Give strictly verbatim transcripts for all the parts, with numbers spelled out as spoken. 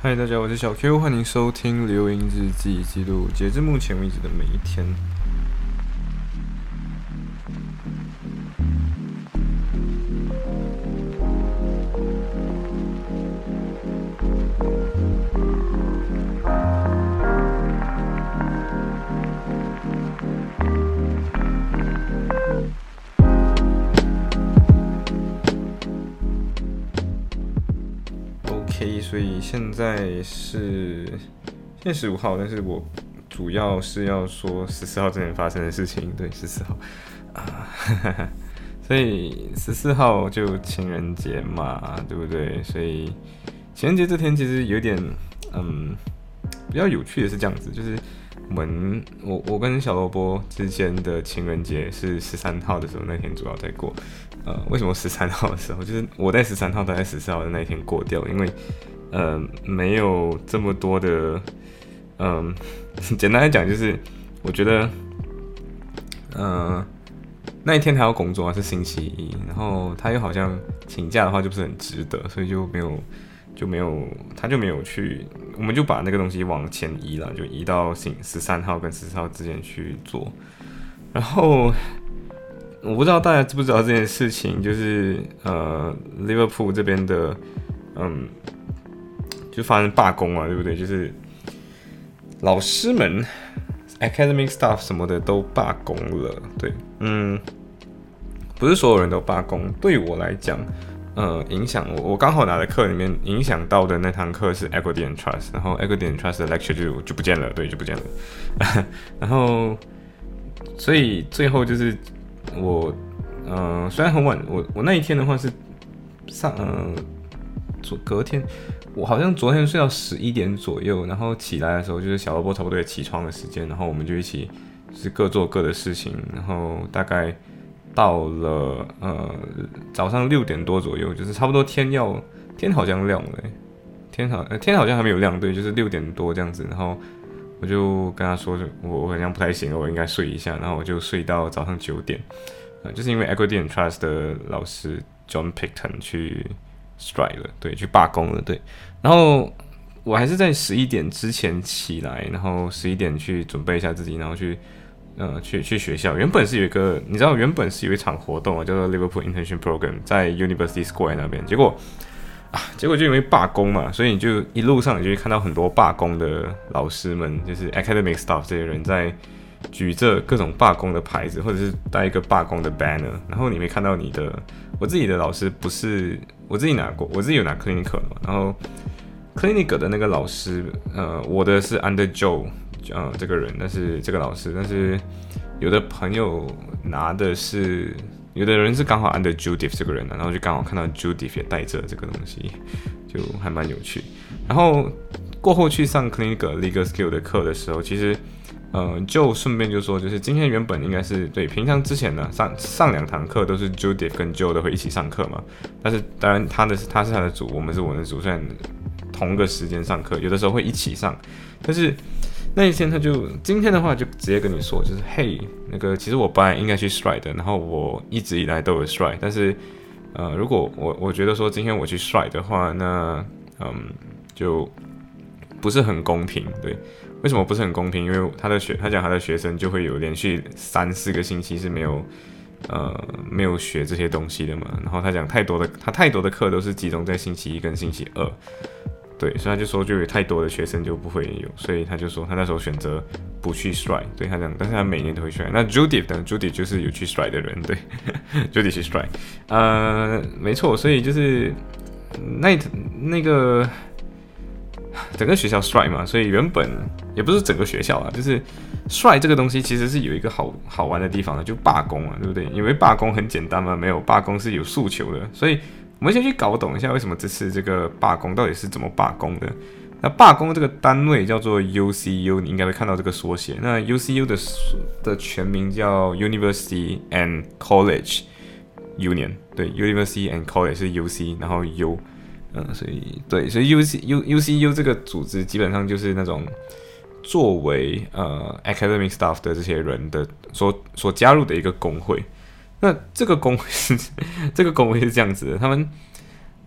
嗨，大家好，我是小 Q，欢迎收听流萤日记，记录截至目前为止的每一天。OK，所以现在是现在十五号，但是我主要是要说十四号之前发生的事情。对，十四号啊，所以十四号就情人节嘛，对不对？所以情人节这天其实有点嗯比较有趣的是这样子，就是我们我我跟小萝卜之间的情人节是十三号的时候那天主要在过。呃，为什么十三号的时候，就是我在十三号，他在十四号的那一天过掉？因为呃没有这么多的，嗯、呃，简单来讲就是，我觉得，呃，那一天他要工作啊，是星期一，然后他又好像请假的话就不是很值得，所以就没有就没有他就没有去，我们就把那个东西往前移了，就移到十三号跟十四号之间去做，然后。我不知道大家知不知道这件事情，就是呃，Liverpool 这边的，嗯，就发生罢工啊，对不对？就是老师们、academic staff 什么的都罢工了，对，嗯，不是所有人都罢工。对我来讲，呃，影响我，我刚好拿的课里面影响到的那堂课是 Equity and Trust， 然后 Equity and Trust 的 lecture 就就不见了，对，就不见了。然后，所以最后就是。我呃虽然很晚，我我那一天的话是上呃昨隔天，我好像昨天睡到十一点左右，然后起来的时候就是小萝卜差不多也起床的时间，然后我们就一起就是各做各的事情，然后大概到了呃早上六点多左右，就是差不多天要天好像亮了、欸，天好、呃、天好像还没有亮，对，就是六点多这样子，然后。我就跟他说，我我好像不太行了，我应该睡一下，然后我就睡到早上九点，呃，就是因为 Equity and Trust 的老师 John Picton 去 strike 了，对，去罢工了，对，然后我还是在十一点之前起来，然后十一点去准备一下自己，然后去呃去去学校。原本是有一个，你知道，原本是有一场活动啊，叫做 Liverpool Internship Program， 在 University Square 那边，结果。啊，结果就因为罢工嘛，所以你就一路上你就会看到很多罢工的老师们，就是 academic staff 这些人在举着各种罢工的牌子，或者是带一个罢工的 banner， 然后你会看到你的，我自己的老师不是我自己拿过，我自己有拿 clinical 的嘛，然后 clinical 的那个老师，呃，我的是 under Joe， 呃，这个人，但是这个老师，但是有的朋友拿的是。有的人是刚好 under Judith 这个人、啊、然后就刚好看到 Judith 也带着这个东西，就还蛮有趣。然后过后去上 clinical legal skill 的课的时候，其实呃就顺便就说，就是今天原本应该是对平常之前呢上上两堂课都是 Judith 跟 Joe 都会一起上课嘛，但是当然他的他是他的组，我们是我们的组，虽然同个时间上课，有的时候会一起上，但是。那一天他就今天的话就直接跟你说，就是嘿，那个其实我本来应该去 strike 的，然后我一直以来都有 strike， 但是呃，如果我我觉得说今天我去 strike 的话，那嗯就不是很公平，对，为什么不是很公平？因为他的学他讲他的学生就会有连续三四个星期是没有呃没有学这些东西的嘛，然后他讲太多的他太多的课都是集中在星期一跟星期二。对，所以他就说，就有太多的学生就不会有，所以他就说他那时候选择不去 strike， 对他讲，但是他每年都会 strike。那 Judith 呢 ？Judith 就是有去 strike 的人，对，Judith 去 strike， 呃，没错，所以就是那那个整个学校 strike 嘛，所以原本也不是整个学校啊，就是 strike 这个东西其实是有一个好好玩的地方的，就罢工啊，对不对？因为罢工很简单嘛，没有罢工是有诉求的，所以。我们先去搞懂一下，为什么这次这个罢工到底是怎么罢工的？那罢工这个单位叫做 U C U， 你应该会看到这个缩写。那 U C U 的的全名叫 University and College Union， 对 ，University and College 是 U C， 然后 U， 嗯，所以对，所以 U C U U C U 这个组织基本上就是那种作为呃 academic staff 的这些人的所所加入的一个工会。那这个工会是这个工会是这样子的，他们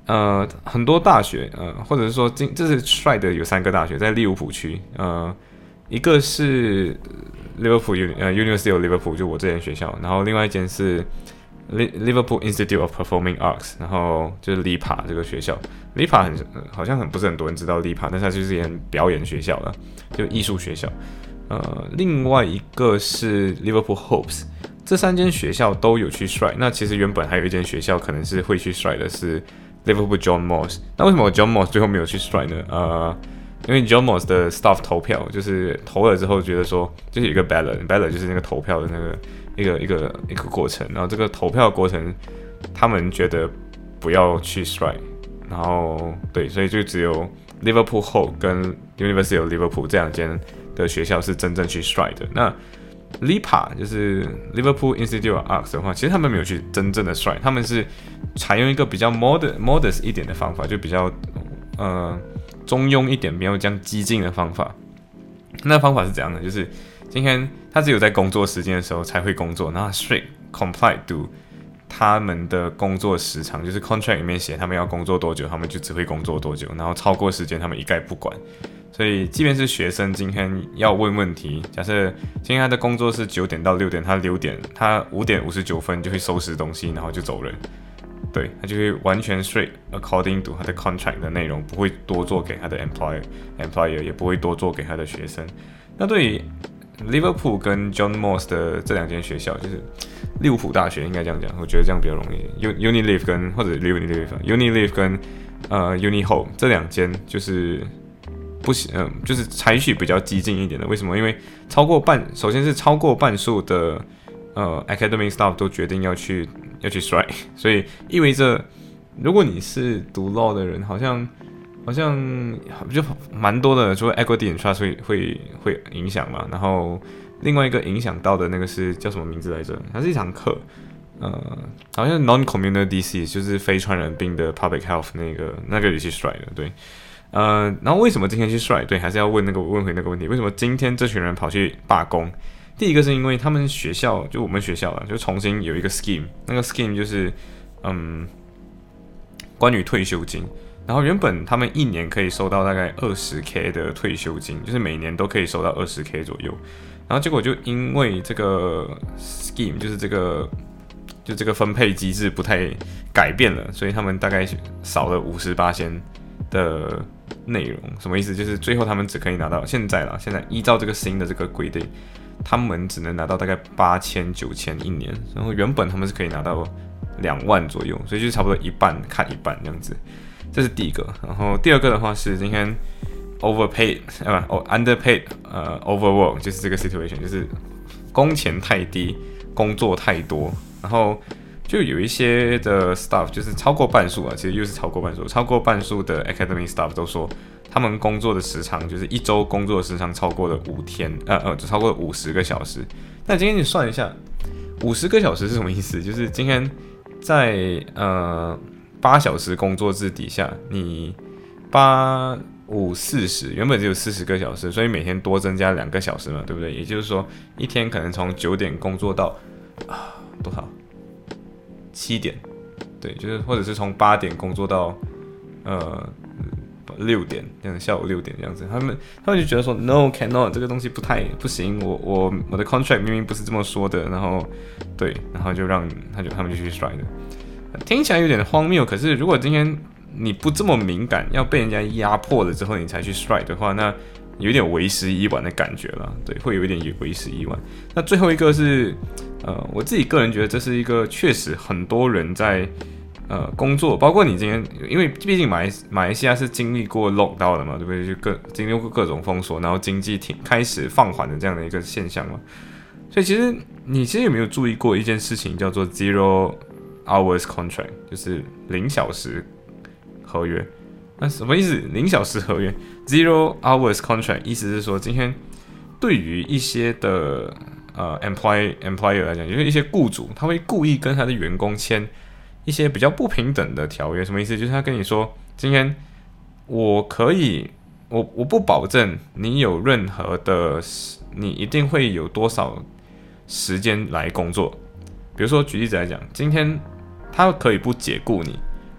呃，很多大学，呃，或者是说今这是 strike 的有三个大学在利物浦区，呃，一个是 Liverpool 呃 University of Liverpool 就我这间学校，然后另外一间是 Liverpool Institute of Performing Arts， 然后就是 L I P A 这个学校 ，L I P A 很好像很不是很多人知道 L I P A， 但是它就是一间表演学校了，就艺术学校。呃，另外一个是 Liverpool Hopes， 这三间学校都有去 strike。那其实原本还有一间学校可能是会去 strike 的是 Liverpool John Moss。那为什么 John Moss 最后没有去 strike 呢？呃，因为 John Moss 的 staff 投票，就是投了之后觉得说，就是有一个 ballot，ballot 就是那个投票的那个一个一个一个过程。然后这个投票的过程，他们觉得不要去 strike， 然后对，所以就只有 Liverpool Hope 跟 University of Liverpool 这两间的学校是真正去 strike 的。那 L I P A 就是 Liverpool Institute of Arts 的话，其实他们没有去真正的 strike， 他们是采用一个比较 modest modest 一点的方法，就比较呃中庸一点，没有这样激进的方法。那方法是怎样的？就是今天他只有在工作时间的时候才会工作，然后 strict comply to 他们的工作时长，就是 contract 里面写他们要工作多久，他们就只会工作多久，然后超过时间他们一概不管。所以，即便是学生今天要问问题，假设今天他的工作是九点到六点，他六点，他五点五十九分就会收拾东西，然后就走人。对，他就会完全 straight according to 他的 contract 的内容，不会多做给他的 employer employer， 也不会多做给他的学生。那对于 Liverpool 跟 John Moss 的这两间学校，就是利物浦大学应该这样讲，我觉得这样比较容易。Unilever 跟或者 Unilever，Unilever 跟呃 Unihope 这两间就是不行，嗯、呃，就是采取比较激进一点的。为什么？因为超过半，首先是超过半数的呃 academic staff 都决定要去要去 strike， 所以意味着如果你是读 law 的人，好像好像就蛮多的，除了 equity and trust 会会会影响嘛。然后另外一个影响到的那个是叫什么名字来着？它是一堂课，呃，好像 non-communicable disease 就是非传染病的 public health 那个那个也去 strike 的，对。呃，然后为什么今天去 strike？ 对，还是要问那个问回那个问题，为什么今天这群人跑去罢工？第一个是因为他们学校，就我们学校啊，就重新有一个 scheme， 那个 scheme 就是嗯，关于退休金。然后原本他们一年可以收到大概 二十K 的退休金，就是每年都可以收到 二十K 左右。然后结果就因为这个 scheme， 就是这个就这个分配机制不太改变了，所以他们大概少了 百分之五十八 的内容。什么意思？就是最后他们只可以拿到现在啦，现在依照这个新的这个规定，他们只能拿到大概八千九千一年，然后原本他们是可以拿到两万左右，所以就差不多一半看一半这样子。这是第一个。然后第二个的话是今天 overpaid 啊不 underpaid 呃 overwork， 就是这个 situation， 就是工钱太低，工作太多，然后就有一些的 staff 就是超过半数啊，其实又是超过半数，超过半数的 academic staff 都说他们工作的时长就是一周工作的时长超过了五天，呃呃，超过了五十个小时。那今天你算一下，五十个小时是什么意思？就是今天在呃八小时工作制底下，你八五四十，原本只有四十个小时，所以每天多增加两个小时嘛，对不对？也就是说，一天可能从九点工作到啊多少？七点，对，就是或者是从八点工作到呃六点，这样下午六点这样子，他们他们就觉得说 no cannot 这个东西不太不行，我我我的 contract 明明不是这么说的，然后对，然后就让他就他们就去 strike 的，听起来有点荒谬，可是如果今天你不这么敏感，要被人家压迫了之后你才去 strike 的话，那有点为时已晚的感觉了，对，会有一点为时已晚。那最后一个是，呃，我自己个人觉得这是一个确实很多人在呃工作，包括你今天，因为毕竟马来马来西亚是经历过 lockdown 的嘛，对不对？就各经历过各种封锁，然后经济停开始放缓的这样的一个现象嘛。所以其实你其实有没有注意过一件事情，叫做 zero hours contract， 就是零小时合约。那什么意思？零小时合约 zero hours contract， 意思是说，今天对于一些的呃 employer employer 来讲，就是一些雇主，他会故意跟他的员工签一些比较不平等的条约。什么意思？就是他跟你说，今天我可以，我我不保证你有任何的，你一定会有多少时间来工作。比如说举例子来讲，今天他可以不解雇你。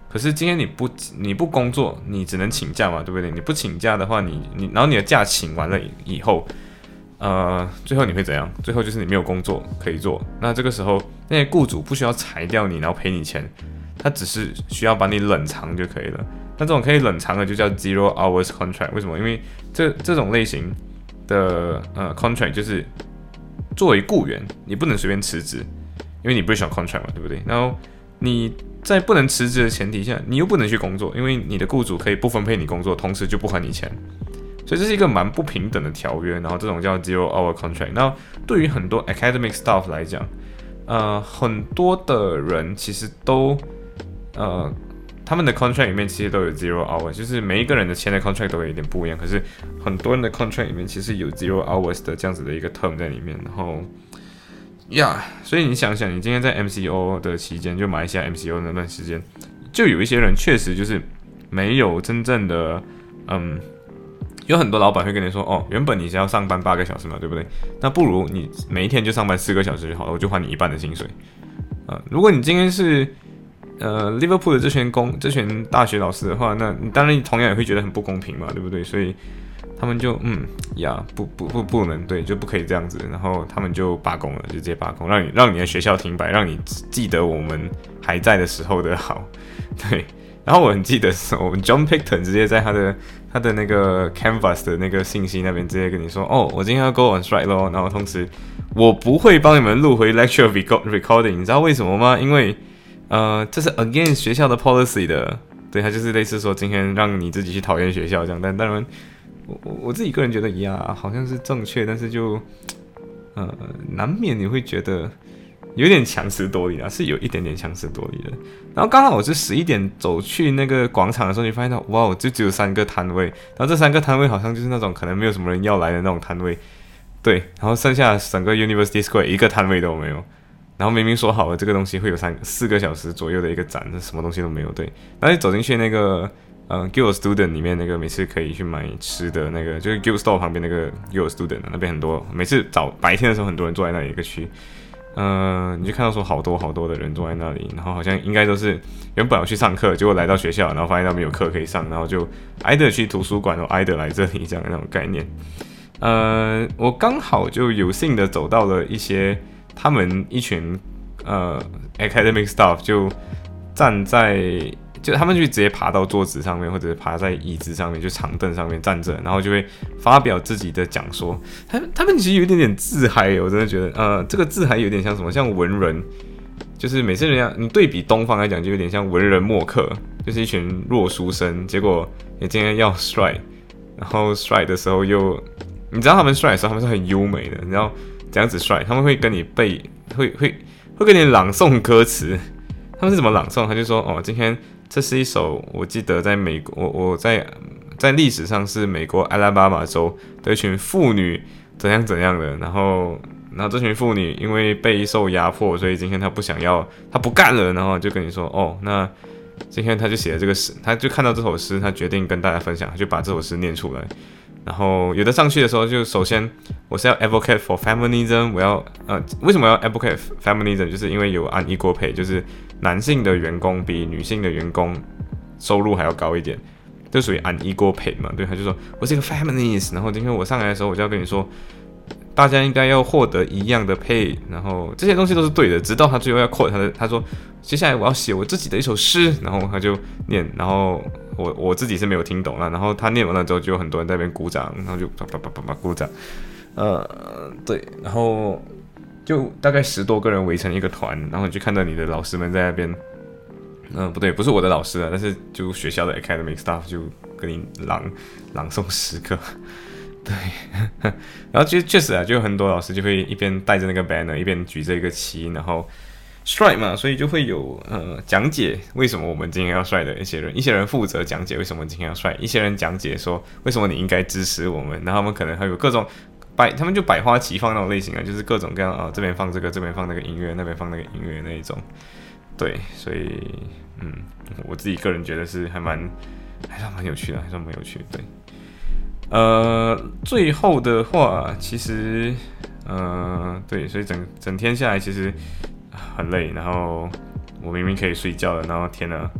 可是今天你不你不工作，你只能请假嘛，对不对？你不请假的话，你你然后你的假请完了以后，呃，最后你会怎样？最后就是你没有工作可以做。那这个时候，那些雇主不需要裁掉你，然后赔你钱，他只是需要把你冷藏就可以了。那这种可以冷藏的就叫 zero hours contract。为什么？因为这这种类型的呃 contract 就是作为雇员，你不能随便辞职，因为你不是想 contract 嘛，对不对？然后你在不能辞职的前提下，你又不能去工作，因为你的雇主可以不分配你工作，同时就不还你钱，所以这是一个蛮不平等的条约。然后这种叫 zero hour contract。那对于很多 academic staff 来讲，呃，很多的人其实都呃，他们的 contract 里面其实都有 zero hour， 就是每一个人的签的 contract 都有一点不一样，可是很多人的 contract 里面其实有 zero hours 的这样子的一个 term 在里面，然后。呀、yeah, 所以你想想，你今天在 M C O 的期间，就马来西亚 M C O 那段时间，就有一些人确实就是没有真正的，嗯，有很多老板会跟你说，哦，原本你是要上班八个小时嘛，对不对？那不如你每一天就上班四个小时就好了，我就还你一半的薪水。啊、呃，如果你今天是呃 Liverpool 的这群工这群大学老师的话，那你当然同样也会觉得很不公平嘛，对不对？所以。他们就嗯呀不不不不能对就不可以这样子，然后他们就罢工了，就直接罢工，让你让你的学校停摆，让你记得我们还在的时候的好，对。然后我很记得是我们 John Picton 直接在他的他的那个 Canvas 的那个信息那边直接跟你说，哦，我今天要 go on strike 咯，然后同时我不会帮你们录回 lecture recording， 你知道为什么吗？因为呃这是 against 学校的 policy 的，对，他就是类似说今天让你自己去讨厌学校这样，但当然。我我自己个人觉得呀，好像是正确，但是就呃难免你会觉得有点强词夺理啊，是有一点点强词夺理的。然后刚好我是十一点走去那个广场的时候，你发现到哇，就只有三个摊位，然后这三个摊位好像就是那种可能没有什么人要来的那种摊位，对，然后剩下整个 University Square 一个摊位都没有。然后明明说好了这个东西会有三四个小时左右的一个展，什么东西都没有，对。然后你走进去那个。呃 ，Guild Student 里面那个每次可以去买吃的那个，就是 Guild Store 旁边那个 Guild Student 那边很多，每次早白天的时候很多人坐在那里一个区，呃，你就看到说好多好多的人坐在那里，然后好像应该都是原本要去上课，结果来到学校，然后发现他们有课可以上，然后就挨着去图书馆，然后挨着来这里这样的那种概念。呃，我刚好就有幸的走到了一些他们一群呃 academic staff 就站在。就他们就直接爬到桌子上面，或者爬在椅子上面，就长凳上面站着，然后就会发表自己的讲说。他们他们其实有一点点自嗨，我真的觉得，呃，这个自嗨有点像什么？像文人，就是每次人家你对比东方来讲，就有点像文人墨客，就是一群弱书生。结果你今天要 strike， 然后 strike 的时候又，你知道他们 strike 的时候他们是很优美的，你知道怎样子 strike？ 他们会跟你背，会会会跟你朗诵歌词。他们是怎么朗诵？他就说，哦，今天。这是一首我记得在美国，我我在在历史上是美国阿拉巴马州的一群妇女怎样怎样的，然后然后这群妇女因为备受压迫，所以今天她不想要，她不干了，然后就跟你说，哦，那今天她就写了这个诗，她就看到这首诗，她决定跟大家分享，她就把这首诗念出来。然后有的上去的时候，就首先我是要 advocate for feminism， 我要呃为什么要 advocate feminism？ 就是因为有 unequal pay， 就是男性的员工比女性的员工收入还要高一点，就属于 unequal pay 嘛。对，他就说我是一个 feminist， 然后今天我上来的时候，我就要跟你说，大家应该要获得一样的 pay， 然后这些东西都是对的，直到他最后要 quote 他的，他说接下来我要写我自己的一首诗，然后他就念，然后。我我自己是没有听懂啦，然后他念完了之后，就有很多人在那边鼓掌，然后就啪啪啪啪啪鼓掌，呃，对，然后就大概十多个人围成一个团，然后你就看到你的老师们在那边，嗯、呃，不对，不是我的老师啊，但是就学校的 academic staff 就跟你朗朗诵诗歌，对，然后就确实啊，就有很多老师就会一边带着那个 banner， 一边举着一个旗，然后。strike 嘛，所以就会有呃讲解为什么我们今天要 strike 的一些人，一些人负责讲解为什么今天要 strike， 一些人讲解说为什么你应该支持我们，然后他们可能还有各种百，他们就百花齐放那种类型啊，就是各种各样啊，这边放这个，这边放那个音乐，那边放那个音乐那一种，对，所以嗯，我自己个人觉得是还蛮还算蛮有趣的，还算蛮有趣的，对，呃，最后的话其实呃对，所以整整天下来其实。很累，然后我明明可以睡觉了，然后天哪，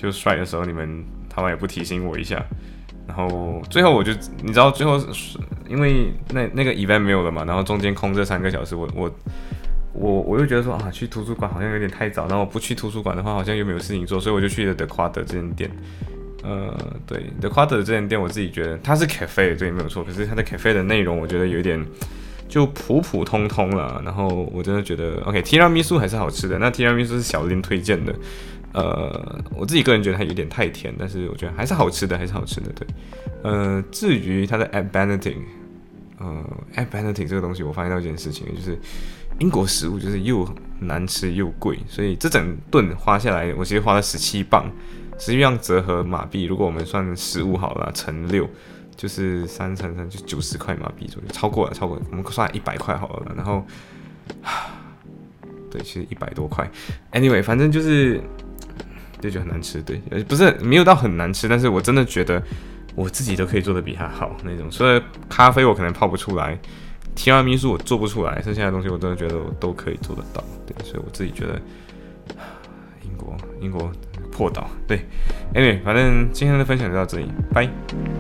就 strike 的时候你们台湾也不提醒我一下，然后最后我就你知道最后因为那那个 event 没有了嘛，然后中间空这三个小时，我我我我又觉得说啊去图书馆好像有点太早，然后我不去图书馆的话好像又没有事情做，所以我就去了 The Quad 这间店。呃，对 The Quad 这间店我自己觉得它是 cafe 对没有错，可是它的 cafe 的内容我觉得有点就普普通通了，然后我真的觉得 OK 提拉米苏还是好吃的，那提拉米苏是小林推荐的。呃，我自己个人觉得它有点太甜，但是我觉得还是好吃的，还是好吃的。对，呃，至于它的 At Benedict， 呃 ，At Benedict 这个东西，我发现到一件事情，就是英国食物就是又难吃又贵，所以这整顿花下来，我其实花了十七磅，实际上折合马币，如果我们算十五好了，乘六，就是三乘三就九十块马币左右，超过了，超过了，我们算一百块好了，然后，对，其实一百多块 ，anyway， 反正就是。就觉得很难吃，对，不是没有到很难吃，但是我真的觉得我自己都可以做的比他好那种。所以咖啡我可能泡不出来，提拉米苏我做不出来，剩下的东西我真的觉得我都可以做得到，对，所以我自己觉得英国英国破岛，对 ，anyway， 反正今天的分享就到这里，拜。